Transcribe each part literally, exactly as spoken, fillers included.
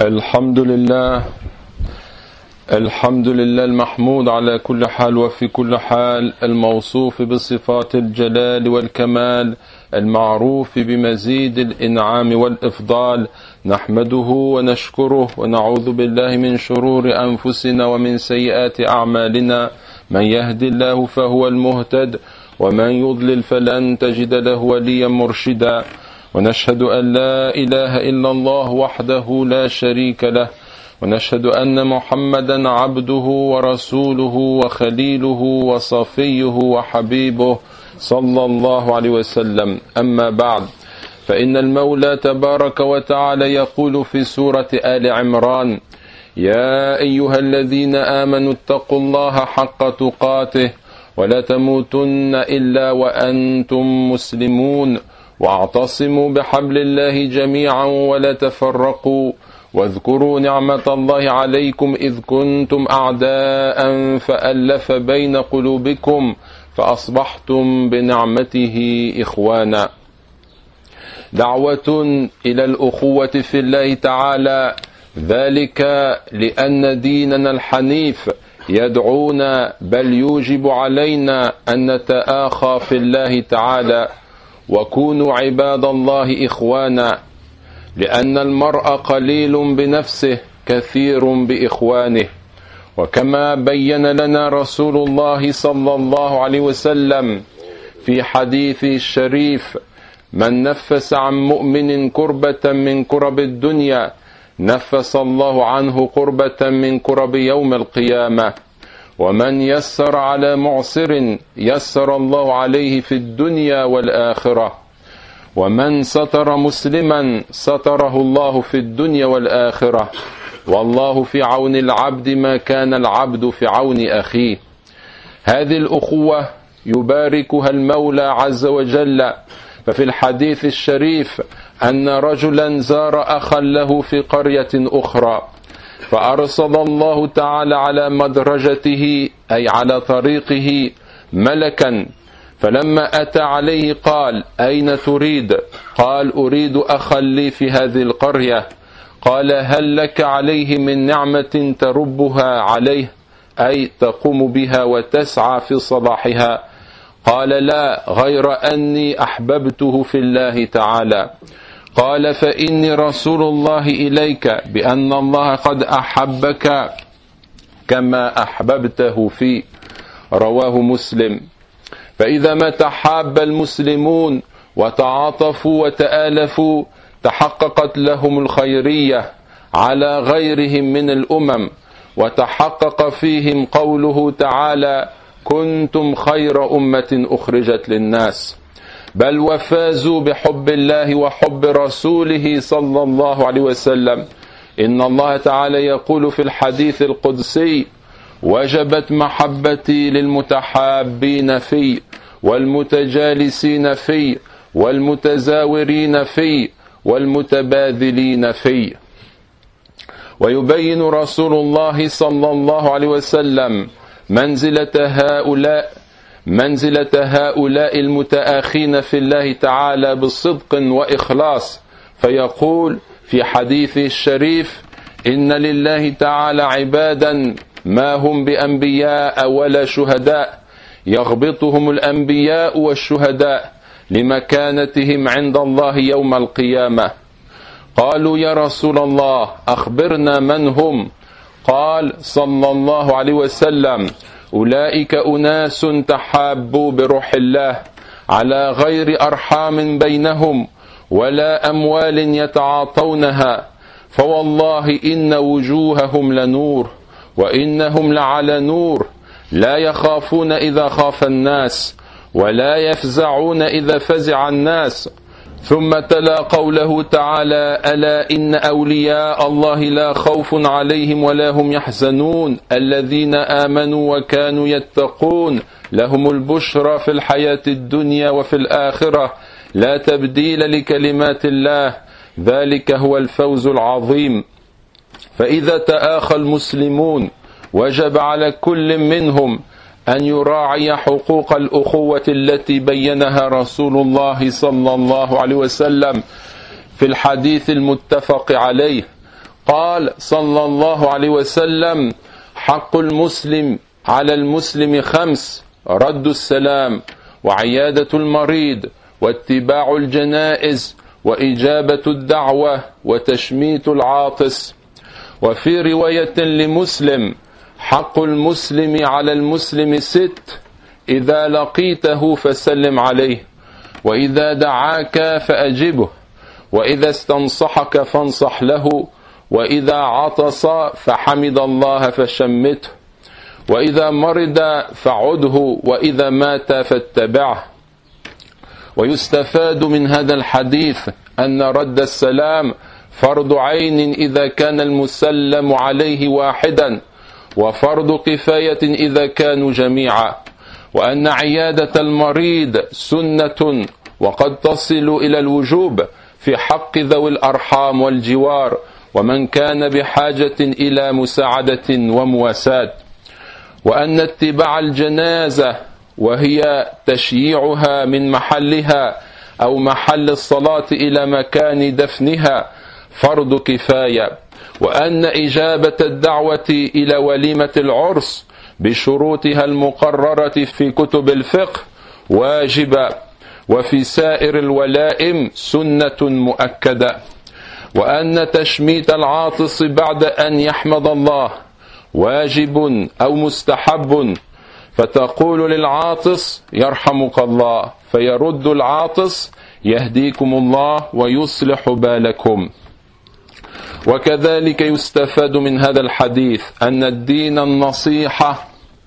الحمد لله الحمد لله المحمود على كل حال وفي كل حال، الموصوف بصفات الجلال والكمال، المعروف بمزيد الإنعام والإفضال. نحمده ونشكره ونعوذ بالله من شرور أنفسنا ومن سيئات أعمالنا. من يهد الله فهو المهتد، ومن يضلل فلن تجد له وليا مرشدا. ونشهد أن لا إله إلا الله وحده لا شريك له، ونشهد أن محمدا عبده ورسوله وخليله وصفيه وحبيبه صلى الله عليه وسلم. أما بعد، فإن المولى تبارك وتعالى يقول في سورة آل عمران: يا أيها الذين آمنوا اتقوا الله حق تقاته ولا تموتن إلا وأنتم مسلمون، واعتصموا بحبل الله جميعا ولا تفرقوا، واذكروا نعمة الله عليكم إذ كنتم أعداء فألف بين قلوبكم فأصبحتم بنعمته إخوانا. دعوة إلى الأخوة في الله تعالى، ذلك لأن ديننا الحنيف يدعونا بل يوجب علينا أن نتآخى في الله تعالى. وكونوا عباد الله إخوانا، لأن المرء قليل بنفسه كثير بإخوانه. وكما بين لنا رسول الله صلى الله عليه وسلم في حديث الشريف: من نفس عن مؤمن كربة من كرب الدنيا نفس الله عنه كربة من كرب يوم القيامة. ومن يسر على معسر يسر الله عليه في الدنيا والآخرة. ومن ستر مسلما ستره الله في الدنيا والآخرة. والله في عون العبد ما كان العبد في عون أخيه. هذه الأخوة يباركها المولى عز وجل. ففي الحديث الشريف أن رجلا زار أخا له في قرية أخرى، فأرسل الله تعالى على مدرجته أي على طريقه ملكا، فلما أتى عليه قال: أين تريد؟ قال: أريد أخا لي في هذه القرية. قال: هل لك عليه من نعمة تربها عليه، أي تقوم بها وتسعى في صلاحها؟ قال: لا، غير أني أحببته في الله تعالى. قال: فإني رسول الله إليك بأن الله قد أحبك كما أحببته فيه. رواه مسلم. فإذا ما تحاب المسلمون وتعاطفوا وتآلفوا تحققت لهم الخيرية على غيرهم من الأمم، وتحقق فيهم قوله تعالى: كنتم خير أمة أخرجت للناس. بل وفازوا بحب الله وحب رسوله صلى الله عليه وسلم. إن الله تعالى يقول في الحديث القدسي: وجبت محبتي للمتحابين في والمتجالسين في والمتزاورين في والمتباذلين في. ويبين رسول الله صلى الله عليه وسلم منزلة هؤلاء منزلة هؤلاء المتآخين في الله تعالى بصدق وإخلاص، فيقول في حديث الشريف: إن لله تعالى عبادا ما هم بأنبياء ولا شهداء، يغبطهم الأنبياء والشهداء لمكانتهم عند الله يوم القيامة. قالوا: يا رسول الله أخبرنا من هم؟ قال صلى الله عليه وسلم: أولئك أناس تحابوا بروح الله على غير أرحام بينهم ولا أموال يتعاطونها، فوالله إن وجوههم لنور وإنهم لعلى نور، لا يخافون إذا خاف الناس ولا يفزعون إذا فزع الناس. ثم تلا قوله تعالى: ألا إن أولياء الله لا خوف عليهم ولا هم يحزنون الذين آمنوا وكانوا يتقون لهم البشرى في الحياة الدنيا وفي الآخرة لا تبديل لكلمات الله ذلك هو الفوز العظيم. فإذا تآخى المسلمون وجب على كل منهم أن يراعي حقوق الأخوة التي بينها رسول الله صلى الله عليه وسلم في الحديث المتفق عليه. قال صلى الله عليه وسلم: حق المسلم على المسلم خمس: رد السلام، وعيادة المريض، واتباع الجنائز، وإجابة الدعوة، وتشميت العاطس. وفي رواية لمسلم: حق المسلم على المسلم ست: إذا لقيته فسلم عليه، وإذا دعاك فأجبه، وإذا استنصحك فانصح له، وإذا عطس فحمد الله فشمته، وإذا مرض فعده، وإذا مات فاتبعه. ويستفاد من هذا الحديث أن رد السلام فرض عين إذا كان المسلم عليه واحدا، وفرض كفاية إذا كانوا جميعا، وأن عيادة المريض سنة وقد تصل إلى الوجوب في حق ذوي الأرحام والجوار، ومن كان بحاجة إلى مساعدة ومواساة. وأن اتباع الجنازة وهي تشييعها من محلها أو محل الصلاة إلى مكان دفنها فرض كفاية. وأن إجابة الدعوة إلى وليمة العرس بشروطها المقررة في كتب الفقه واجبة، وفي سائر الولائم سنة مؤكدة. وأن تشميت العاطس بعد أن يحمد الله واجب أو مستحب، فتقول للعاطس: يرحمك الله، فيرد العاطس: يهديكم الله ويصلح بالكم. وكذلك يستفاد من هذا الحديث أن الدين النصيحة.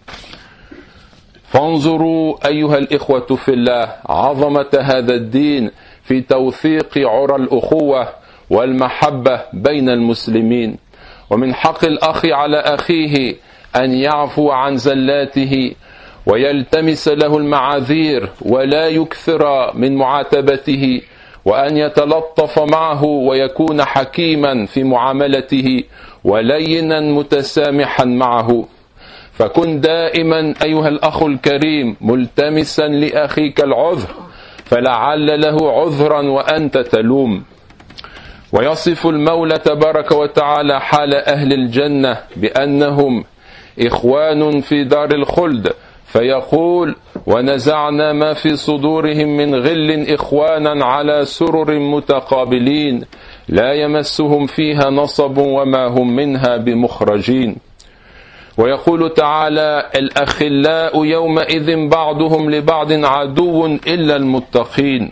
فانظروا أيها الإخوة في الله عظمة هذا الدين في توثيق عرى الأخوة والمحبة بين المسلمين. ومن حق الأخ على أخيه أن يعفو عن زلاته ويلتمس له المعاذير ولا يكثر من معاتبته، وأن يتلطف معه ويكون حكيما في معاملته ولينا متسامحا معه. فكن دائما أيها الأخ الكريم ملتمسا لأخيك العذر، فلعل له عذرا وأنت تلوم. ويصف المولى تبارك وتعالى حال أهل الجنة بأنهم إخوان في دار الخلد، فيقول: ونزعنا ما في صدورهم من غل إخوانا على سرر متقابلين لا يمسهم فيها نصب وما هم منها بمخرجين. ويقول تعالى: الأخلاء يومئذ بعضهم لبعض عدو إلا المتقين.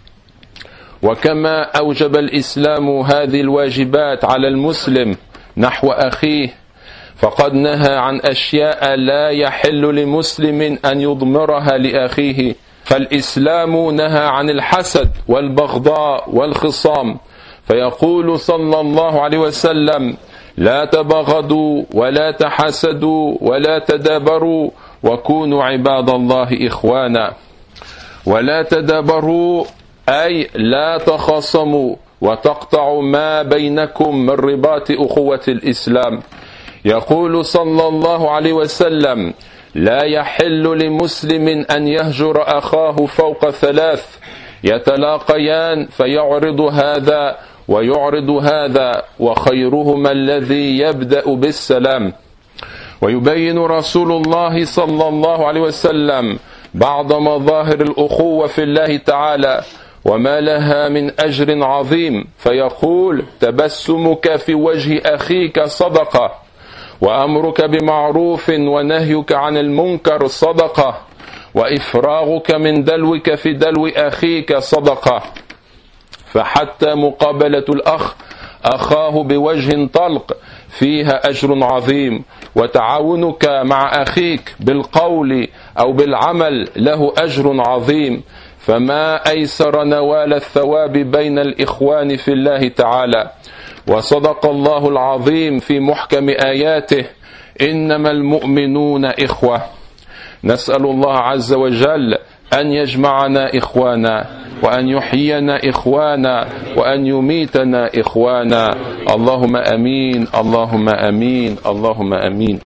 وكما أوجب الإسلام هذه الواجبات على المسلم نحو أخيه، فقد نهى عن أشياء لا يحل لمسلم أن يضمرها لأخيه. فالإسلام نهى عن الحسد والبغضاء والخصام، فيقول صلى الله عليه وسلم: لا تبغضوا ولا تحسدوا ولا تدابروا وكونوا عباد الله إخوانا. ولا تدابروا أي لا تخاصموا وتقطعوا ما بينكم من رباط أخوة الإسلام. يقول صلى الله عليه وسلم: لا يحل لمسلم أن يهجر أخاه فوق ثلاث: يتلاقيان فيعرض هذا ويعرض هذا، وخيرهما الذي يبدأ بالسلام. ويبين رسول الله صلى الله عليه وسلم بعض مظاهر الأخوة في الله تعالى وما لها من أجر عظيم، فيقول: تبسمك في وجه أخيك صدقة، وأمرك بمعروف ونهيك عن المنكر صدقة، وإفراغك من دلوك في دلو أخيك صدقة. فحتى مقابلة الأخ أخاه بوجه طلق فيها أجر عظيم، وتعاونك مع أخيك بالقول أو بالعمل له أجر عظيم. فما أيسر نوال الثواب بين الإخوان في الله تعالى. وصدق الله العظيم في محكم آياته: إنما المؤمنون إخوة. نسأل الله عز وجل أن يجمعنا إخوانا، وأن يحيينا إخوانا، وأن يميتنا إخوانا. اللهم أمين، اللهم أمين، اللهم أمين.